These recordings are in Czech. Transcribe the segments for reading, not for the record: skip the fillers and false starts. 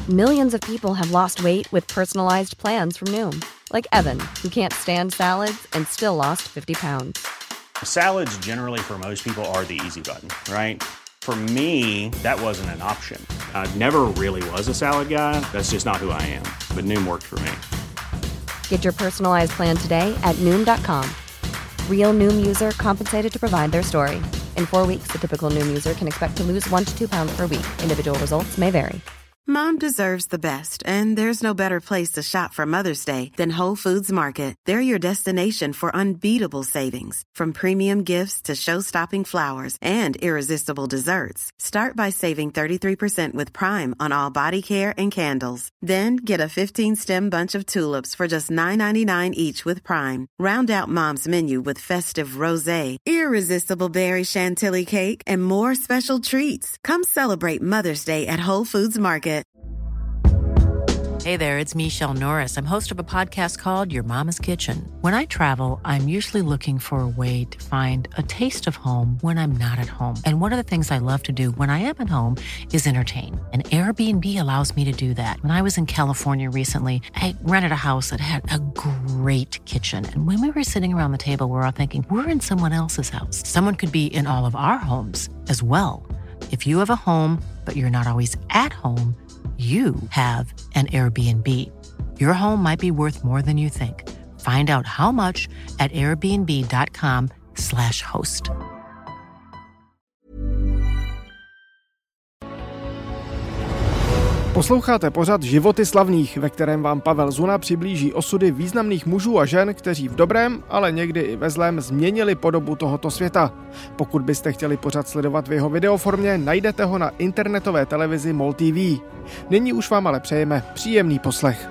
Millions of people have lost weight with personalized plans from Noom. Like Evan, who can't stand salads and still lost 50 pounds. Salads generally for most people are the easy button, right? For me, that wasn't an option. I never really was a salad guy. That's just not who I am. But Noom worked for me. Get your personalized plan today at Noom.com. Real Noom user compensated to provide their story. In 4 weeks, the typical Noom user can expect to lose 1 to 2 pounds per week. Individual results may vary. Mom deserves the best, and there's no better place to shop for Mother's Day than Whole Foods Market. They're your destination for unbeatable savings, from premium gifts to show-stopping flowers and irresistible desserts. Start by saving 33% with Prime on all body care and candles. Then get a 15-stem bunch of tulips for just $9.99 each with Prime. Round out Mom's menu with festive rosé, irresistible berry chantilly cake, and more special treats. Come celebrate Mother's Day at Whole Foods Market. Hey there, it's Michelle Norris. I'm host of a podcast called Your Mama's Kitchen. When I travel, I'm usually looking for a way to find a taste of home when I'm not at home. And one of the things I love to do when I am at home is entertain. And Airbnb allows me to do that. When I was in California recently, I rented a house that had a great kitchen. And when we were sitting around the table, we were all thinking, we're in someone else's house. Someone could be in all of our homes as well. If you have a home, but you're not always at home, you have an Airbnb. Your home might be worth more than you think. Find out how much at airbnb.com/host. Posloucháte pořad Životy slavných, ve kterém vám Pavel Zuna přiblíží osudy významných mužů a žen, kteří v dobrém, ale někdy i ve zlém změnili podobu tohoto světa. Pokud byste chtěli pořad sledovat v jeho videoformě, najdete ho na internetové televizi MOL TV. Nyní už vám ale přejeme příjemný poslech.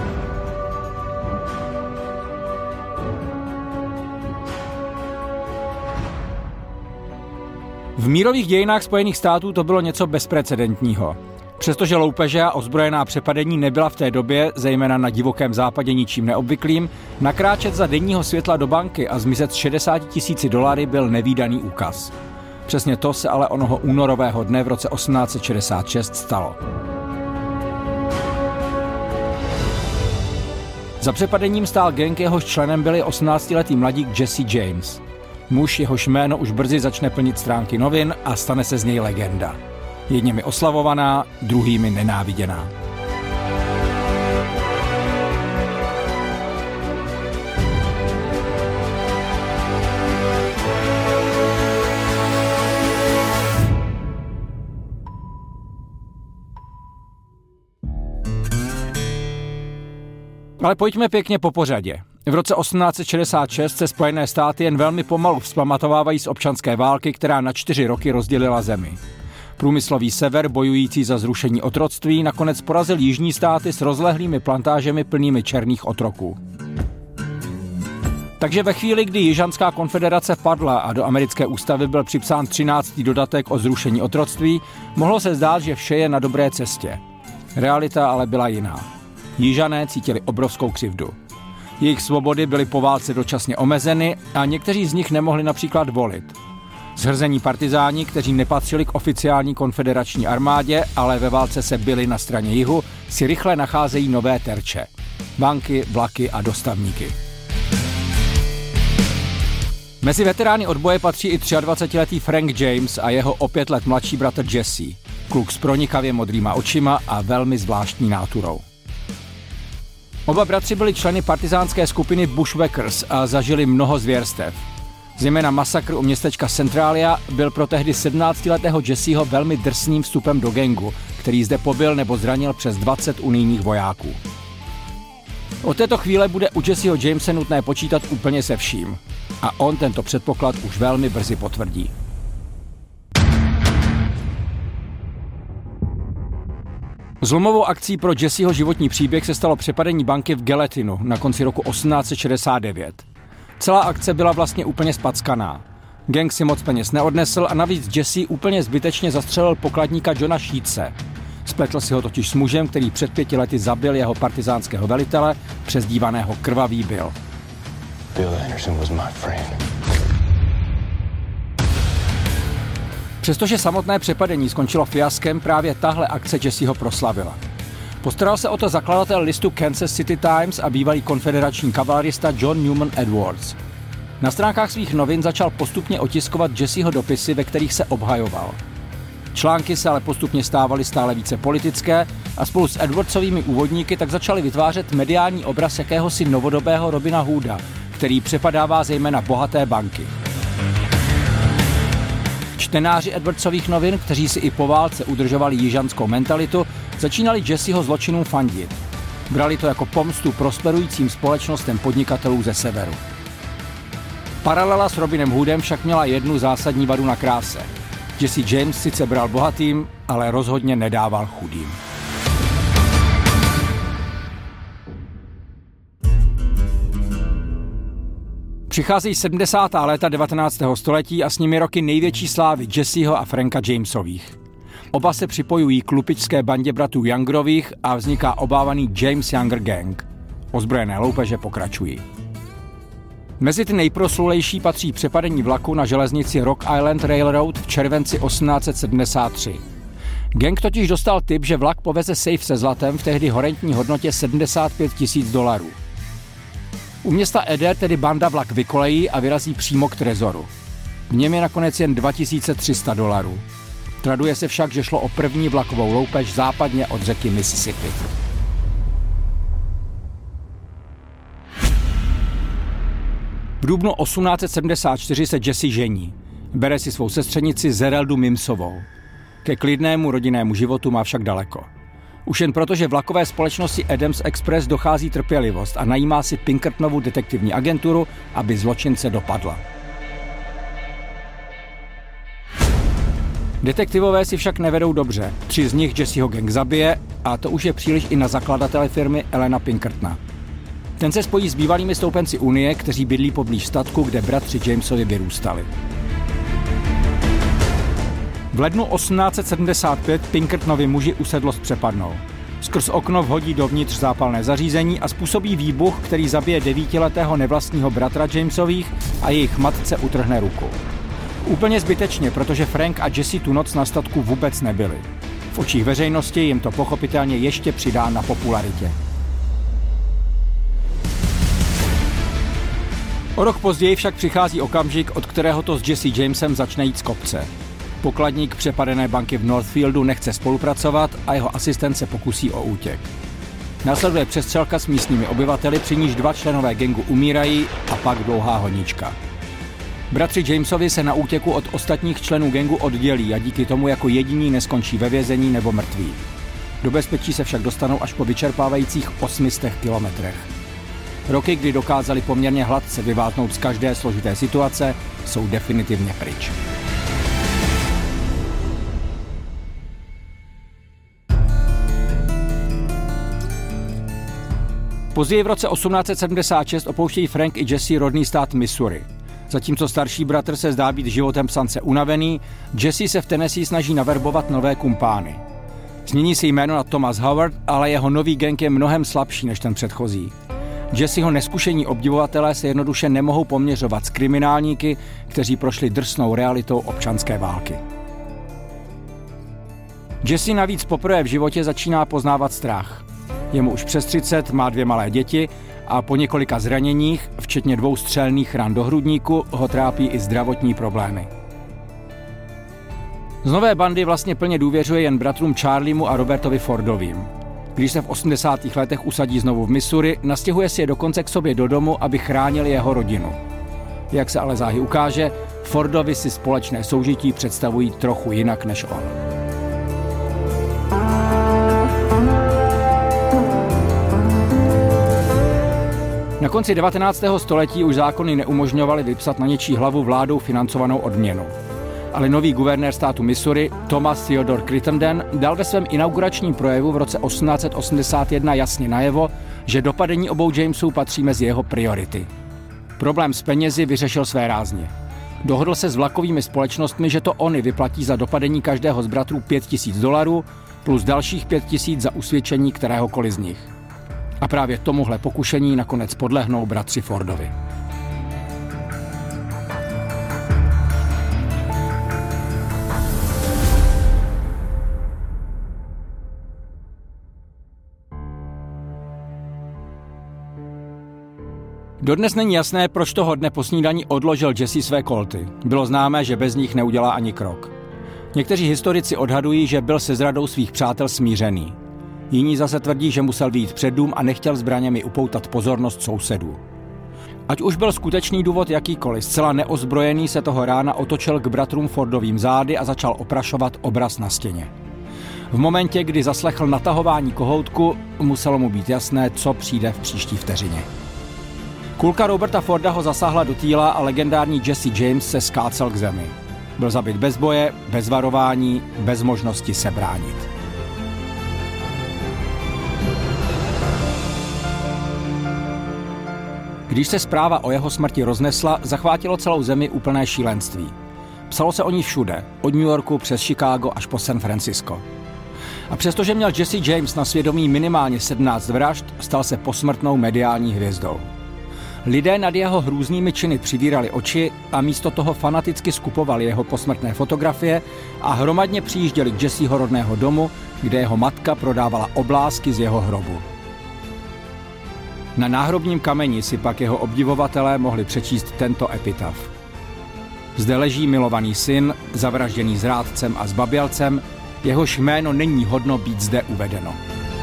V mírových dějinách Spojených států to bylo něco bezprecedentního. Přestože loupeže a ozbrojená přepadení nebyla v té době, zejména na divokém západě, ničím neobvyklým, nakráčet za denního světla do banky a zmizet s $60,000 byl nevídaný úkaz. Přesně to se ale onoho únorového dne v roce 1866 stalo. Za přepadením stál gang, jehož členem byl 18letý mladík Jesse James. Muž, jehož jméno už brzy začne plnit stránky novin a stane se z něj legenda. Jedněmi oslavovaná, druhými nenáviděná. Ale pojďme pěkně po pořadě. V roce 1866 se Spojené státy jen velmi pomalu vzpamatovávají z občanské války, která na 4 roky rozdělila zemi. Průmyslový sever, bojující za zrušení otroctví, nakonec porazil jižní státy s rozlehlými plantážemi plnými černých otroků. Takže ve chvíli, kdy Jižanská konfederace padla a do americké ústavy byl připsán 13. dodatek o zrušení otroctví, mohlo se zdát, že vše je na dobré cestě. Realita ale byla jiná. Jižané cítili obrovskou křivdu. Jejich svobody byly po válce dočasně omezeny a někteří z nich nemohli například volit. Zhrzení partizáni, kteří nepatřili k oficiální konfederační armádě, ale ve válce se byli na straně jihu, si rychle nacházejí nové terče. Banky, vlaky a dostavníky. Mezi veterány odboje patří i 23letý Frank James a jeho o 5 let mladší bratr Jesse. Kluk s pronikavě modrýma očima a velmi zvláštní náturou. Oba bratři byli členy partizánské skupiny Bushwhackers a zažili mnoho zvěrstev. Zejména masakr u městečka Centralia byl pro tehdy 17letého Jesseho velmi drsným vstupem do gangu, který zde pobil nebo zranil přes 20 unijních vojáků. Od této chvíle bude u Jesseho Jamese nutné počítat úplně se vším. A on tento předpoklad už velmi brzy potvrdí. Zlomovou akcí pro Jesseho životní příběh se stalo přepadení banky v Gallatynu na konci roku 1869. Celá akce byla vlastně úplně spackaná. Gang si moc peněz neodnesl a navíc Jesse úplně zbytečně zastřelil pokladníka Johna Sheetse. Spletl si ho totiž s mužem, který před 5 lety zabil jeho partizánského velitele, přezdívaného Krvavý Bill. Bill Anderson was my friend. Přestože samotné přepadení skončilo fiaskem, právě tahle akce Jesseho proslavila. Postaral se o to zakladatel listu Kansas City Times a bývalý konfederační kavalerista John Newman Edwards. Na stránkách svých novin začal postupně otiskovat Jesseho dopisy, ve kterých se obhajoval. Články se ale postupně stávaly stále více politické a spolu s Edwardsovými úvodníky tak začali vytvářet mediální obraz jakéhosi novodobého Robina Hooda, který přepadává zejména bohaté banky. Čtenáři Edwardsových novin, kteří si i po válce udržovali jižanskou mentalitu, začínali Jesseho zločinům fandit. Brali to jako pomstu prosperujícím společnostem podnikatelů ze severu. Paralela s Robinem Hoodem však měla jednu zásadní vadu na kráse. Jesse James sice bral bohatým, ale rozhodně nedával chudým. Přicházejí 70. léta 19. století a s nimi roky největší slávy Jesseho a Franka Jamesových. Oba se připojují k lupičské bandě bratrů Youngerových a vzniká obávaný James Younger Gang. Ozbrojené loupeže pokračují. Mezi ty nejproslulejší patří přepadení vlaku na železnici Rock Island Railroad v červenci 1873. Gang totiž dostal tip, že vlak poveze safe se zlatem v tehdy horentní hodnotě $75 000. U města Eder tedy banda vlak vykolejí a vyrazí přímo k trezoru. V něm je nakonec jen $2300. Traduje se však, že šlo o první vlakovou loupež západně od řeky Mississippi. V dubnu 1874 se Jesse žení. Bere si svou sestřenici Zereldu Mimsovou. Ke klidnému rodinnému životu má však daleko. Už jen proto, že vlakové společnosti Adams Express dochází trpělivost a najímá si Pinkertonovu detektivní agenturu, aby zločince dopadla. Detektivové si však nevedou dobře. 3 z nich Jesseho gang zabije a to už je příliš i na zakladatele firmy Allena Pinkertona. Ten se spojí s bývalými stoupenci Unie, kteří bydlí poblíž statku, kde bratři Jamesovi vyrůstali. V lednu 1875 Pinkertonovi muži usedlost přepadnou. Skrz okno vhodí dovnitř zápalné zařízení a způsobí výbuch, který zabije 9letého nevlastního bratra Jamesových a jejich matce utrhne ruku. Úplně zbytečně, protože Frank a Jesse tu noc na statku vůbec nebyli. V očích veřejnosti jim to pochopitelně ještě přidá na popularitě. O rok později však přichází okamžik, od kterého to s Jesse Jamesem začne jít z kopce. Pokladník přepadené banky v Northfieldu nechce spolupracovat a jeho asistent se pokusí o útěk. Následuje přestřelka s místními obyvateli, při níž 2 členové gangu umírají a pak dlouhá honička. Bratři Jamesovi se na útěku od ostatních členů gangu oddělí a díky tomu jako jediní neskončí ve vězení nebo mrtví. Do bezpečí se však dostanou až po vyčerpávajících 800 kilometrech. Roky, kdy dokázali poměrně hladce vyváznout z každé složité situace, jsou definitivně pryč. Později v roce 1876 opouštějí Frank i Jesse rodný stát Missouri. Zatímco starší bratr se zdá být životem psance unavený, Jesse se v Tennessee snaží naverbovat nové kumpány. Změní si jméno na Thomas Howard, ale jeho nový gang je mnohem slabší než ten předchozí. Jesseho neskušení obdivovatelé se jednoduše nemohou poměřovat s kriminálníky, kteří prošli drsnou realitou občanské války. Jesse navíc poprvé v životě začíná poznávat strach. Je mu už přes 30, má 2 malé děti a po několika zraněních, včetně 2 střelných ran do hrudníku, ho trápí i zdravotní problémy. Z nové bandy vlastně plně důvěřuje jen bratrům Charliemu a Robertovi Fordovým. Když se v 80. letech usadí znovu v Missouri, nastěhuje si je dokonce k sobě do domu, aby chránili jeho rodinu. Jak se ale záhy ukáže, Fordovi si společné soužití představují trochu jinak než on. Na konci 19. století už zákony neumožňovaly vypsat na něčí hlavu vládou financovanou odměnu. Ale nový guvernér státu Missouri, Thomas Theodore Crittenden, dal ve svém inauguračním projevu v roce 1881 jasně najevo, že dopadení obou Jamesů patří mezi jeho priority. Problém s penězi vyřešil své rázně. Dohodl se s vlakovými společnostmi, že to oni vyplatí za dopadení každého z bratrů $5000 plus dalších 5000 za usvědčení kteréhokoliv z nich. A právě tomuhle pokušení nakonec podlehnou bratři Fordovi. Dodnes není jasné, proč toho dne po snídani odložil Jesse své kolty. Bylo známé, že bez nich neudělá ani krok. Někteří historici odhadují, že byl se zradou svých přátel smířený. Jiní zase tvrdí, že musel vyjít před dům a nechtěl zbraněmi upoutat pozornost sousedů. Ať už byl skutečný důvod jakýkoliv, zcela neozbrojený se toho rána otočil k bratrům Fordovým zády a začal oprašovat obraz na stěně. V momentě, kdy zaslechl natahování kohoutku, muselo mu být jasné, co přijde v příští vteřině. Kulka Roberta Forda ho zasáhla do týla a legendární Jesse James se skácel k zemi. Byl zabit bez boje, bez varování, bez možnosti se bránit. Když se zpráva o jeho smrti roznesla, zachvátilo celou zemi úplné šílenství. Psalo se o ní všude, od New Yorku přes Chicago až po San Francisco. A přestože měl Jesse James na svědomí minimálně 17 vražd, stal se posmrtnou mediální hvězdou. Lidé nad jeho hrůznými činy přivírali oči a místo toho fanaticky skupovali jeho posmrtné fotografie a hromadně přijížděli k Jesseho rodného domu, kde jeho matka prodávala oblázky z jeho hrobu. Na náhrobním kameni si pak jeho obdivovatelé mohli přečíst tento epitaf. Zde leží milovaný syn, zavražděný zrádcem a zbabělcem, jehož jméno není hodno být zde uvedeno.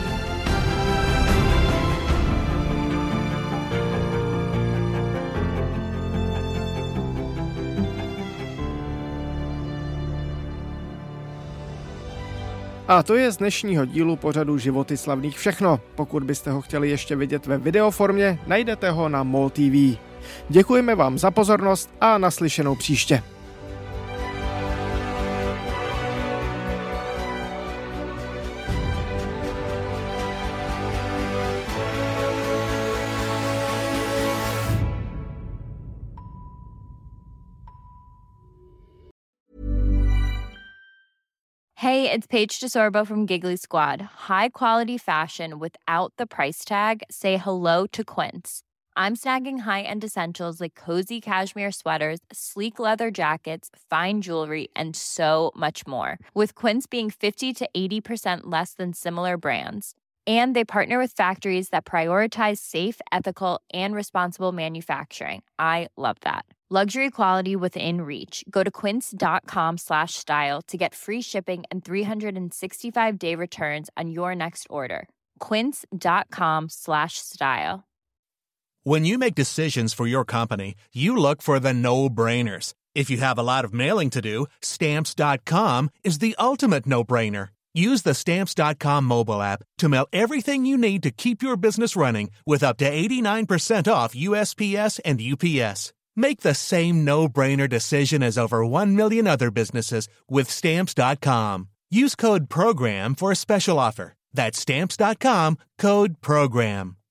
A to je z dnešního dílu pořadu Životy slavných všechno. Pokud byste ho chtěli ještě vidět ve videoformě, najdete ho na MOL TV. Děkujeme vám za pozornost a naslyšenou příště. Hey, it's Paige DeSorbo from Giggly Squad. High quality fashion without the price tag. Say hello to Quince. I'm snagging high-end essentials like cozy cashmere sweaters, sleek leather jackets, fine jewelry, and so much more. With Quince being 50 to 80% less than similar brands. And they partner with factories that prioritize safe, ethical, and responsible manufacturing. I love that. Luxury quality within reach. Go to quince.com/style to get free shipping and 365-day returns on your next order. Quince.com/style. When you make decisions for your company, you look for the no-brainers. If you have a lot of mailing to do, Stamps.com is the ultimate no-brainer. Use the Stamps.com mobile app to mail everything you need to keep your business running with up to 89% off USPS and UPS. Make the same no-brainer decision as over 1 million other businesses with Stamps.com. Use code PROGRAM for a special offer. That's Stamps.com, code PROGRAM.